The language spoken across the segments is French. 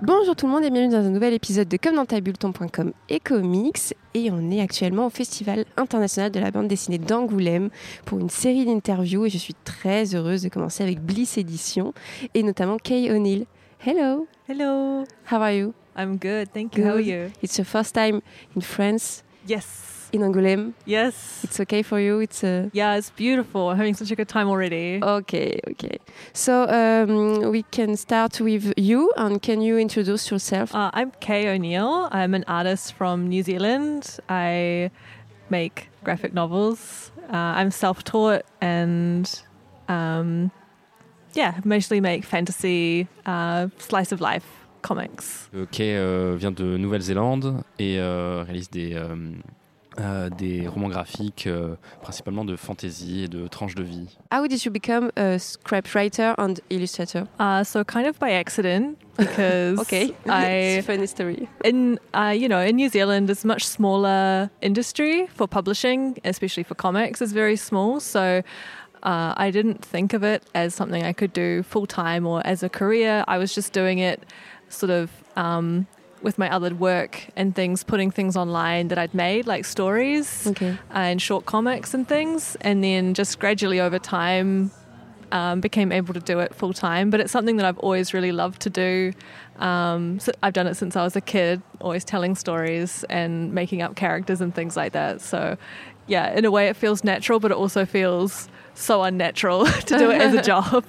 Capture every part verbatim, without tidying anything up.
Bonjour tout le monde et bienvenue dans un nouvel épisode de Comme dans ta bulle, ton point com et comics. Et on est actuellement au Festival international de la bande dessinée d'Angoulême pour une série d'interviews et je suis très heureuse de commencer avec Bliss Éditions et notamment Kay O'Neill. Hello. Hello. How are you? I'm good, thank you. Good. How are you? It's your first time in France? Yes. In Angoulême? Yes. It's okay for you? It's a... Yeah, it's beautiful. I'm having such a good time already. Okay, okay. So um, we can start with you, and can you introduce yourself? Uh, I'm Kay O'Neill. I'm an artist from New Zealand. I make graphic novels. Uh, I'm self-taught and um, yeah, mostly make fantasy, uh, slice of life comics. Kay euh, vient de Nouvelle-Zélande et euh, réalise des... Euh, Euh, des romans graphiques, euh, principalement de fantasy et de tranches de vie. How did you become a scriptwriter and illustrator? Uh, so kind of by accident, because okay, I it's a funny story. In uh, you know, in New Zealand, it's a much smaller industry for publishing, especially for comics. It's very small, so uh, I didn't think of it as something I could do full time or as a career. I was just doing it, sort of. Um, with my other work and things, putting things online that I'd made, like stories okay. and short comics and things, and then just gradually over time um, became able to do it full time. But it's something that I've always really loved to do. Um, so I've done it since I was a kid, always telling stories and making up characters and things like that. So yeah, in a way it feels natural, but it also feels so unnatural to do it as a job.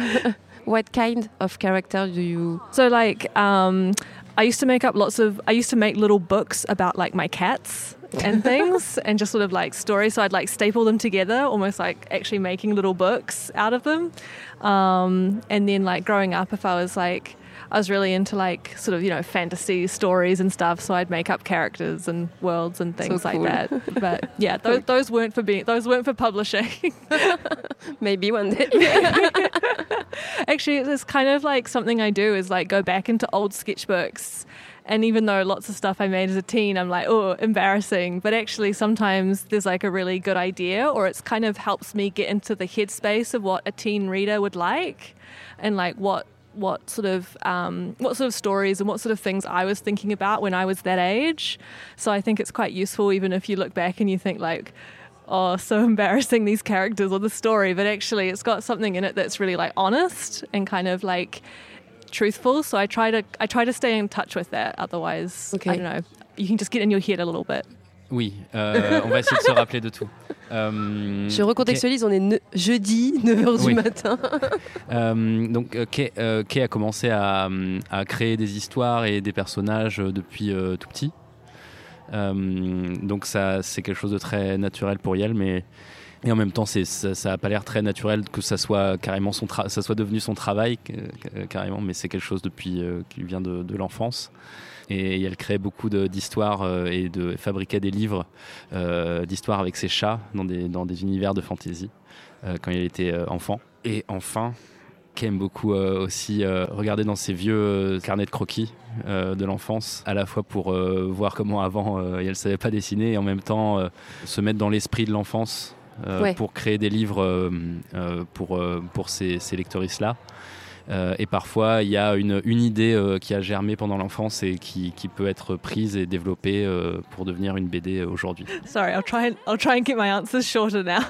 What kind of character do you... So like... Um, I used to make up lots of, I used to make little books about like my cats and things and just sort of like stories. So I'd like staple them together, almost like actually making little books out of them. Um, and then like growing up, if I was like, I was really into like sort of, you know, fantasy stories and stuff. So I'd make up characters and worlds and things so like cool. that. But yeah, those, those weren't for being, those weren't for publishing. Maybe one day. Actually, it's kind of like something I do is like go back into old sketchbooks. And even though lots of stuff I made as a teen, I'm like, oh, embarrassing. But actually sometimes there's like a really good idea, or it's kind of helps me get into the headspace of what a teen reader would like and like what what sort of um, what sort of stories and what sort of things I was thinking about when I was that age. So I think it's quite useful even if you look back and you think like, oh, so embarrassing, these characters or the story. But actually it's got something in it that's really like honest and kind of like truthful. So I try to I try to stay in touch with that. Otherwise, okay. I don't know, you can just get in your head a little bit. Oui, euh, on va essayer de se rappeler de tout. Euh, Je recontextualise, okay. On est ne- jeudi, neuf heures oui. du matin. euh, donc Kay, euh, Kay a commencé à, à créer des histoires et des personnages depuis euh, tout petit. Euh, donc ça, c'est quelque chose de très naturel pour elle, mais et en même temps, c'est, ça, ça a pas l'air très naturel que ça soit carrément son tra- ça soit devenu son travail euh, carrément, mais c'est quelque chose depuis euh, qui vient de, de l'enfance. Et elle crée beaucoup de, d'histoires euh, et de fabriquait des livres euh, d'histoires avec ses chats dans des, dans des univers de fantasy euh, quand elle était euh, enfant. Et enfin, Kay aime beaucoup euh, aussi euh, regarder dans ses vieux euh, carnets de croquis euh, de l'enfance, à la fois pour euh, voir comment avant euh, elle ne savait pas dessiner et en même temps euh, se mettre dans l'esprit de l'enfance euh, ouais. pour créer des livres euh, euh, pour, euh, pour ces, ces lectoristes-là. Euh, et parfois, il y a une, une idée euh, qui a germé pendant l'enfance et qui, qui peut être prise et développée euh, pour devenir une B D aujourd'hui. Sorry, I'll try and, I'll try and keep my answers shorter now.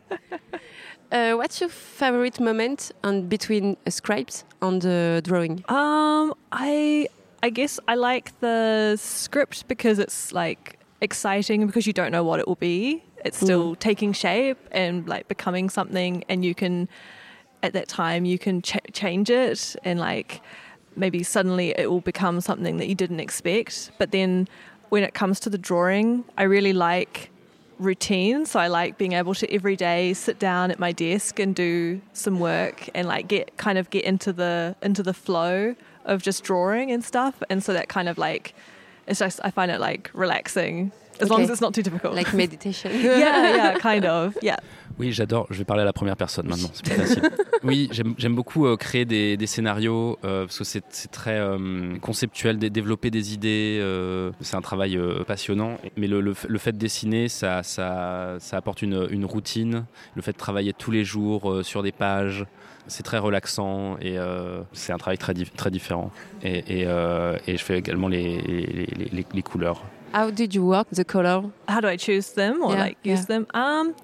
uh, what's your favorite moment on between a script and the drawing? Um, I I guess I like the script because it's like exciting because you don't know what it will be. It's still mm. taking shape and like becoming something, and you can. At that time you can ch- change it and like maybe suddenly it will become something that you didn't expect. But then when it comes to the drawing, I really like routine. So I like being able to every day sit down at my desk and do some work and like get kind of get into the into the flow of just drawing and stuff. And so that kind of like it's just I find it like relaxing as okay. long as it's not too difficult. Like meditation. yeah, yeah, kind of. Yeah. Oui, j'adore. Je vais parler à la première personne maintenant. C'est plus facile. Oui, j'aime, j'aime beaucoup euh, créer des, des scénarios euh, parce que c'est, c'est très euh, conceptuel, de développer des idées. Euh, c'est un travail euh, passionnant. Mais le, le, le fait de dessiner, ça, ça, ça apporte une, une routine. Le fait de travailler tous les jours euh, sur des pages, c'est très relaxant et euh, c'est un travail très, di- très différent. Et, et, euh, et je fais également les, les, les, les, les couleurs. How did you work the color? How do I choose them or Yeah, like use yeah. them? Um,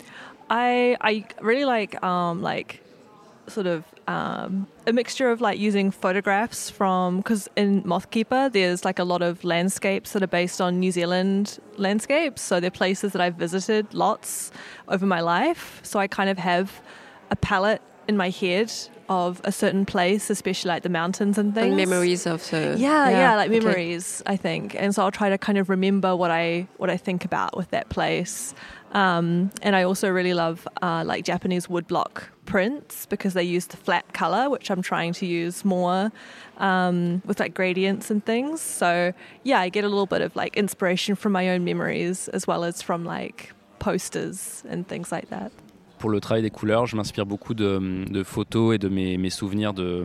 I I really like um like sort of um, a mixture of like using photographs from, because in Mothkeeper there's like a lot of landscapes that are based on New Zealand landscapes, so they're places that I've visited lots over my life, so I kind of have a palette in my head of a certain place, especially like the mountains and things. And memories of the... Yeah, yeah, yeah like okay. memories, I think. And so I'll try to kind of remember what I what I think about with that place. Um, and I also really love uh, like Japanese woodblock prints because they use the flat color, which I'm trying to use more um, with like gradients and things. So yeah, I get a little bit of like inspiration from my own memories as well as from like posters and things like that. Pour le travail des couleurs, je m'inspire beaucoup de, de photos et de mes, mes souvenirs de,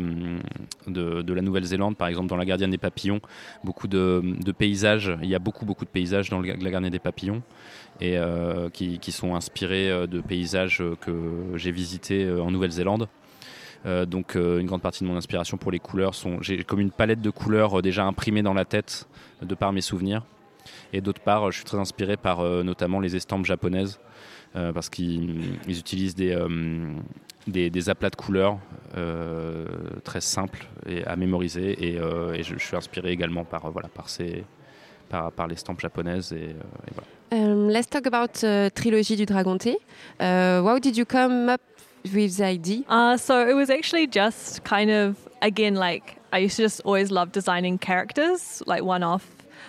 de, de la Nouvelle-Zélande, par exemple dans La Gardienne des Papillons. Beaucoup de, de paysages, il y a beaucoup, beaucoup de paysages dans La Gardienne des Papillons et euh, qui, qui sont inspirés de paysages que j'ai visités en Nouvelle-Zélande. Euh, donc euh, une grande partie de mon inspiration pour les couleurs, sont, j'ai comme une palette de couleurs déjà imprimée dans la tête de par mes souvenirs. Et d'autre part, je suis très inspiré par euh, notamment les estampes japonaises. Euh, parce qu'ils ils utilisent des, euh, des, des aplats de couleurs euh, très simples et à mémoriser et, euh, et je, je suis inspiré également par, euh, voilà, par, ces, par, par les estampes japonaises et, euh, et voilà. Um, let's talk about uh, Trilogie du Dragon Thé. Uh, how did you come up with the idea? Uh, so it was actually just kind of, again, like I used to just always love designing characters, like one-off.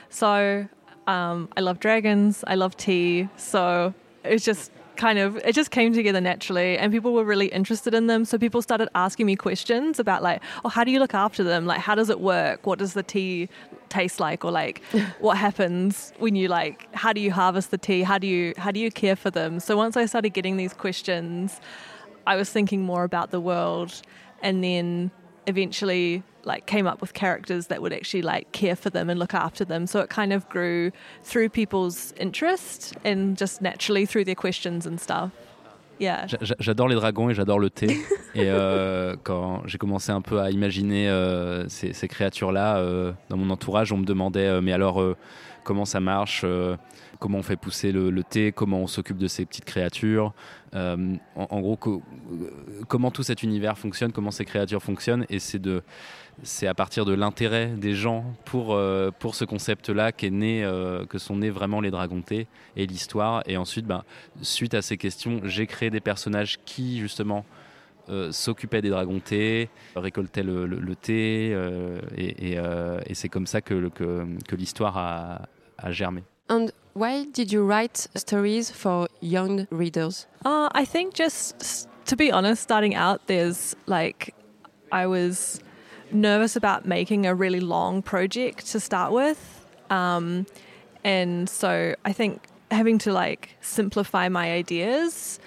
So um, I love dragons, I love tea, so it's just kind of, it just came together naturally and people were really interested in them. So people started asking me questions about like, oh, how do you look after them? Like, how does it work? What does the tea taste like? Or like, what happens when you like, how do you harvest the tea? How do you, how do you care for them? So once I started getting these questions, I was thinking more about the world and then eventually like came up with characters that would actually like care for them and look after them. So it kind of grew through people's interest and just naturally through their questions and stuff. Yeah. J'adore les dragons et j'adore le thé. Et euh, quand j'ai commencé un peu à imaginer euh, ces, ces créatures-là euh, dans mon entourage, on me demandait euh, mais alors euh, comment ça marche, euh, comment on fait pousser le, le thé, comment on s'occupe de ces petites créatures. Euh, en, en gros, co- comment tout cet univers fonctionne, comment ces créatures fonctionnent. Et c'est de C'est à partir de l'intérêt des gens pour, euh, pour ce concept-là qu'est né, euh, que sont nés vraiment les dragons thé et l'histoire. Et ensuite, ben, suite à ces questions, j'ai créé des personnages qui, justement, euh, s'occupaient des dragons thé, récoltaient le, le, le thé. Euh, et, et, euh, et c'est comme ça que, que, que l'histoire a, a germé. And why did you write stories for young readers? Uh, I think just, to be honest, starting out, there's like, I was nervous about making a really long project to start with. Um, and so I think having to like simplify my ideas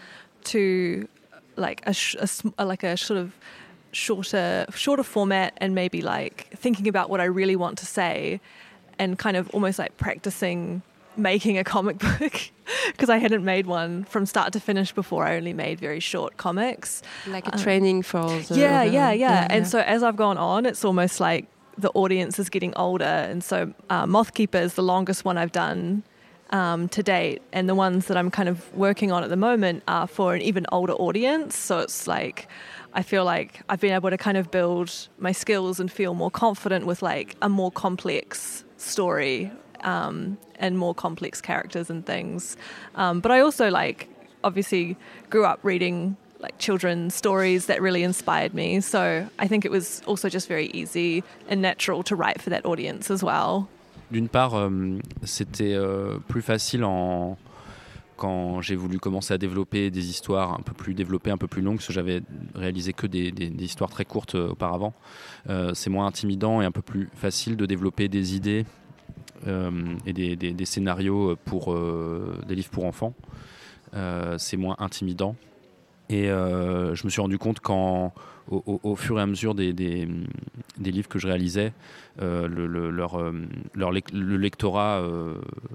to like a, sh- a like a sort of shorter shorter format and maybe like thinking about what I really want to say and kind of almost like practicing making a comic book because I hadn't made one from start to finish before. I only made very short comics. Like a Um, training for the... yeah, the- yeah, yeah, yeah, And yeah. so as I've gone on, it's almost like the audience is getting older. And so uh, Mothkeeper is the longest one I've done um, to date. And the ones that I'm kind of working on at the moment are for an even older audience. So it's like, I feel like I've been able to kind of build my skills and feel more confident with like a more complex story um, and more complex characters and things. Um, but I also like obviously grew up reading like children's stories that really inspired me. So I think it was also just very easy and natural to write for that audience as well. D'une part, euh, c'était euh, plus facile en... quand j'ai voulu commencer à développer des histoires un peu plus développées, un peu plus longues, parce que j'avais réalisé que des, des, des histoires très courtes euh, auparavant. Euh, c'est moins intimidant et un peu plus facile de développer des idées euh, et des, des, des scénarios pour euh, des livres pour enfants. Euh, c'est moins intimidant. Et euh, je me suis rendu compte qu'au au, au fur et à mesure des, des, des livres que je réalisais, euh, le, le, leur, leur, le lectorat euh,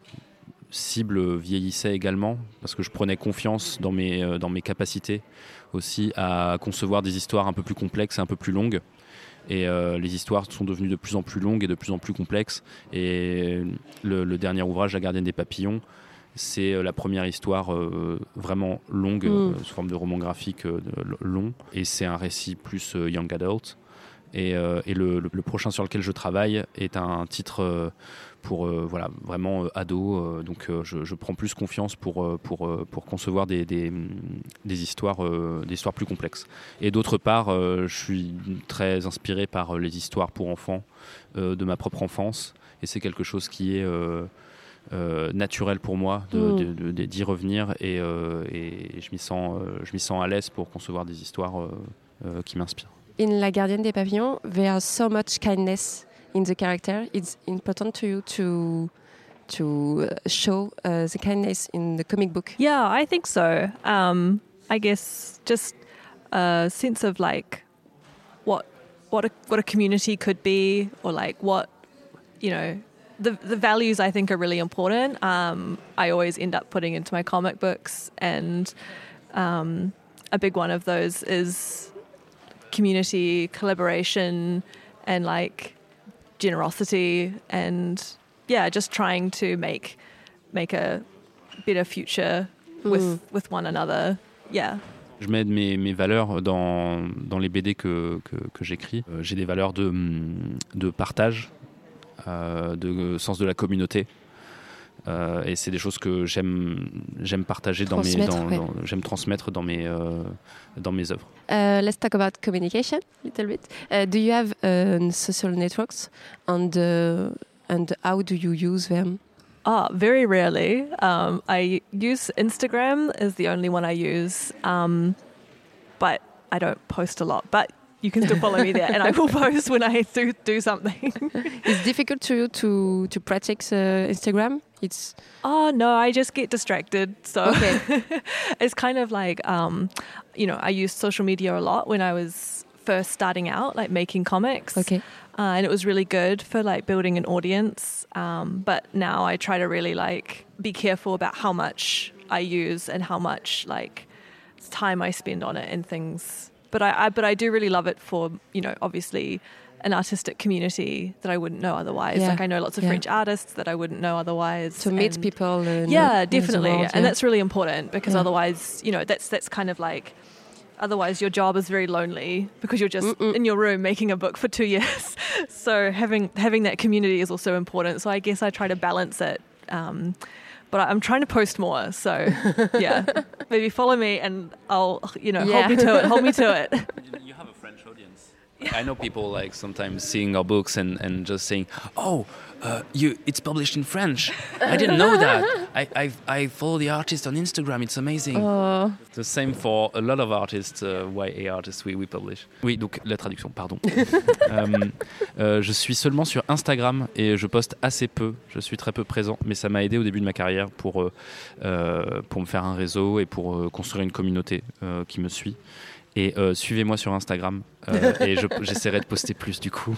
cible vieillissait également, parce que je prenais confiance dans mes, dans mes capacités aussi à concevoir des histoires un peu plus complexes et un peu plus longues. Et euh, les histoires sont devenues de plus en plus longues et de plus en plus complexes. Et le, le dernier ouvrage, La Gardienne des Papillons, c'est la première histoire euh, vraiment longue, mmh. euh, sous forme de roman graphique euh, long. Et c'est un récit plus euh, young adult. Et, euh, et le, le, le prochain sur lequel je travaille est un titre euh, pour euh, voilà, vraiment euh, ado. Euh, donc euh, je, je prends plus confiance pour, euh, pour, euh, pour concevoir des, des, des, histoires, euh, des histoires plus complexes. Et d'autre part, euh, je suis très inspiré par les histoires pour enfants euh, de ma propre enfance. Et c'est quelque chose qui est... Euh, Euh, naturel pour moi de, mm. de, de, de, d'y revenir et, euh, et je m'y sens, euh, je m'y sens à l'aise pour concevoir des histoires euh, euh, qui m'inspirent. In La Gardienne des Papillons, there's so much kindness in the character. It's important to you to to show uh, the kindness in the comic book. Yeah, I think so. Um, I guess just a sense of like what what a what a community could be, or like what, you know. The the values I think are really important. Um, I always end up putting into my comic books, and um, a big one of those is community, collaboration, and like generosity, and yeah, just trying to make make a better future with mm. with one another. Yeah. Je mets mes, mes valeurs dans dans les B D que que, que j'écris. Euh, j'ai des valeurs de de partage. Euh, de sens de la communauté euh, et c'est des choses que j'aime j'aime partager dans mes dans, ouais. dans, j'aime transmettre dans mes euh, dans mes œuvres. Uh, let's talk about communication a little bit. Uh, do you have uh, social networks and uh, and how do you use them? Ah, oh, very rarely. Um, I use Instagram is the only one I use, um, but I don't post a lot. But you can still follow me there, and I will post when I do do something. It's difficult to you to to practice uh, Instagram. It's oh no, I just get distracted. So okay. It's kind of like um, you know, I used social media a lot when I was first starting out, like making comics. Okay. Uh, and it was really good for like building an audience. Um, but now I try to really like be careful about how much I use and how much like time I spend on it and things. But I, I, but I do really love it for, you know, obviously an artistic community that I wouldn't know otherwise. Yeah. Like I know lots of yeah. French artists that I wouldn't know otherwise. To meet people. And yeah, definitely. World, and yeah. that's really important because yeah. otherwise, you know, that's that's kind of like, otherwise your job is very lonely because you're just Mm-mm. in your room making a book for two years. So having having that community is also important. So I guess I try to balance it. Um, But I'm trying to post more, so yeah. Maybe follow me and I'll, you know, yeah. hold me to it, hold me to it. You have a French audience. I know people like sometimes seeing our books and, and just saying, oh, uh, you, it's published in French. I didn't know that. I, I, I follow the artist on Instagram, it's amazing. Oh. The same for a lot of artists, uh, Y A artists we, we publish. Oui, donc la traduction, pardon. euh, euh, je suis seulement sur Instagram et je poste assez peu. Je suis très peu présent, mais ça m'a aidé au début de ma carrière pour, euh, euh, pour me faire un réseau et pour euh, construire une communauté euh, qui me suit. Et euh, suivez-moi sur Instagram euh, et je, j'essaierai de poster plus du coup.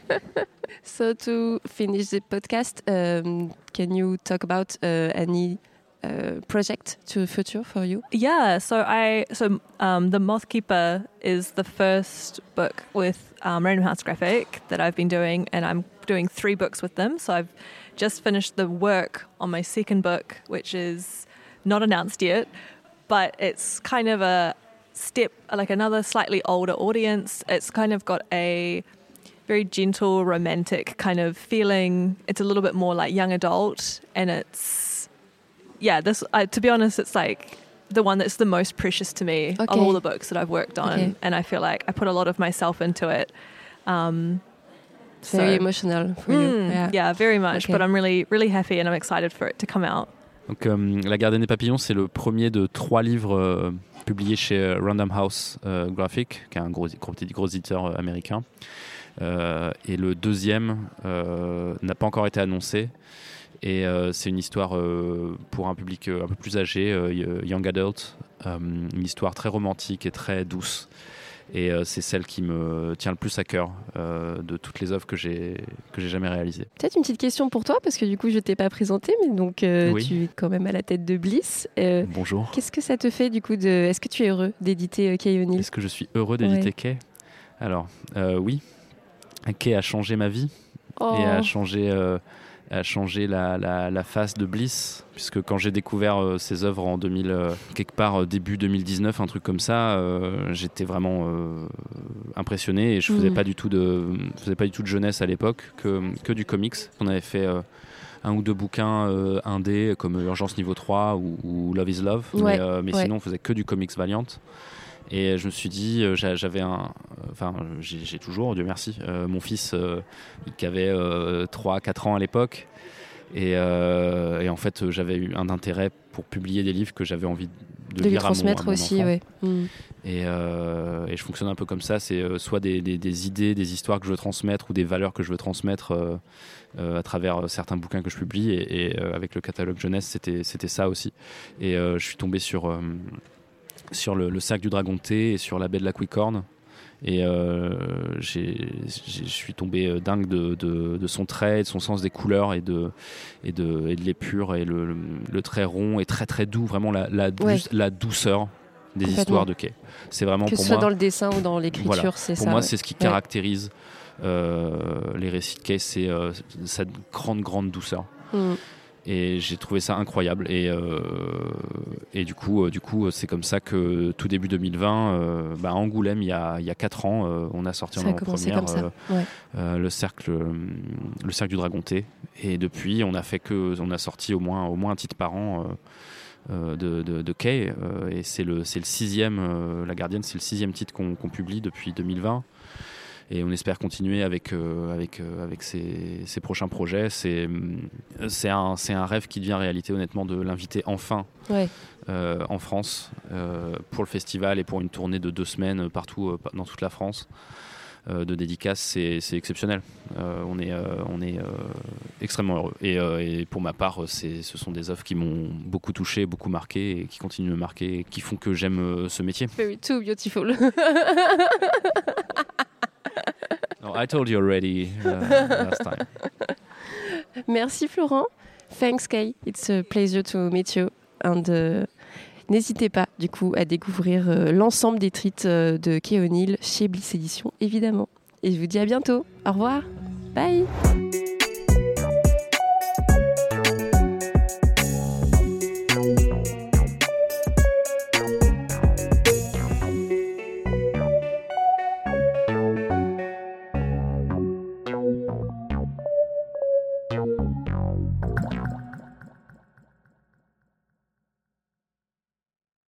So to finish the podcast, um, can you talk about uh, any uh, project to the future for you? Yeah, so I so um, The Moth Keeper is the first book with um, Random House Graphic that I've been doing, and I'm doing three books with them. So I've just finished the work on my second book, which is not announced yet, but it's kind of a step, like another slightly older audience. It's kind of got a very gentle, romantic kind of feeling. It's a little bit more like young adult, and it's, yeah, this, uh, to be honest, it's like the one that's the most precious to me okay. of all the books that I've worked on. Okay. And I feel like I put a lot of myself into it. Um, it's very so, emotional for mm, you. Yeah, yeah very much. Okay. But I'm really, really happy and I'm excited for it to come out. Donc, euh, La Gardienne des Papillons, c'est le premier de trois livres euh, publiés chez Random House euh, Graphic, qui est un gros, gros, gros éditeur euh, américain. Euh, et le deuxième euh, n'a pas encore été annoncé. Et euh, c'est une histoire euh, pour un public euh, un peu plus âgé, euh, young adult, euh, une histoire très romantique et très douce. Et euh, c'est celle qui me tient le plus à cœur euh, de toutes les œuvres que j'ai, que j'ai jamais réalisées. Peut-être une petite question pour toi, parce que du coup, je ne t'ai pas présenté, mais donc euh, Oui. tu es quand même à la tête de Bliss. Euh, Bonjour. Qu'est-ce que ça te fait du coup de... Est-ce que tu es heureux d'éditer euh, Kay O'Neill ? Est-ce que je suis heureux d'éditer Ouais. Kay ? Alors, euh, oui. Kay a changé ma vie Oh. et a changé, euh, a changé la, la, la face de Bliss, puisque quand j'ai découvert euh, ses œuvres en deux mille, euh, quelque part euh, début deux mille dix-neuf, un truc comme ça, euh, j'étais vraiment euh, impressionné et je faisais Mmh. pas du tout de, faisais pas du tout de jeunesse à l'époque, que, que du comics. On avait fait euh, un ou deux bouquins euh, indés comme Urgence Niveau trois ou, ou Love is Love, Ouais, mais, euh, mais ouais. sinon on faisait que du comics Valiant. Et je me suis dit, euh, j'a- j'avais un. Enfin, j'ai, j'ai toujours, Dieu merci, euh, mon fils euh, qui avait euh, trois quatre ans à l'époque. Et, euh, et en fait, j'avais eu un intérêt pour publier des livres que j'avais envie de, De lui lire à mon, transmettre à mon aussi, enfant. ouais. Mmh. Et, euh, et je fonctionne un peu comme ça. C'est euh, soit des, des, des idées, des histoires que je veux transmettre ou des valeurs que je veux transmettre euh, euh, à travers euh, certains bouquins que je publie. Et, et euh, avec le catalogue jeunesse, c'était, c'était ça aussi. Et euh, je suis tombé sur. Euh, sur le, le Cercle du Dragon de Thé et sur La Baie de la Quicorne. Et euh, j'ai, j'ai, je suis tombé dingue de, de, de son trait, de son sens des couleurs et de, et de, et de l'épure et le, le, le trait rond et très très doux, vraiment la, la, Ouais. douce- la douceur des Complètement. histoires de Kay. C'est vraiment Que pour ce soit moi, dans le dessin ou dans l'écriture, Voilà. c'est pour ça. moi ouais. c'est ce qui Ouais. caractérise euh, les récits de Kay, c'est euh, cette grande grande douceur. Mmh. Et j'ai trouvé ça incroyable. Et, euh, et du coup, euh, du coup, c'est comme ça que tout début deux mille vingt, euh, bah, à Angoulême, il y a, il y a quatre ans, euh, on a sorti Ça en a commencé première comme ça. euh, Ouais. euh, le cercle, euh, le cercle du Dragon Thé. Et depuis, on a fait que, on a sorti au moins, au moins un titre par an. Euh, euh, de, de, de Kay, euh, et c'est le, c'est le sixième, euh, La Gardienne, c'est le sixième titre qu'on, qu'on publie depuis deux mille vingt. Et on espère continuer avec, euh, avec, euh, avec ces, ces prochains projets. C'est, c'est, un, c'est un rêve qui devient réalité, honnêtement, de l'inviter enfin Ouais. euh, en France euh, pour le festival et pour une tournée de deux semaines partout euh, dans toute la France euh, de dédicaces. C'est, c'est exceptionnel. Euh, on est, euh, on est euh, extrêmement heureux. Et, euh, et pour ma part, c'est, ce sont des œuvres qui m'ont beaucoup touché, beaucoup marqué et qui continuent de me marquer et qui font que j'aime euh, ce métier. Very too beautiful. No, I told you already uh, last time. Merci Florent. Thanks Kay. It's a pleasure to meet you. And uh, n'hésitez pas du coup à découvrir euh, l'ensemble des titres euh, de Kay O'Neill chez Bliss Éditions, évidemment. Et je vous dis à bientôt. Au revoir. Bye.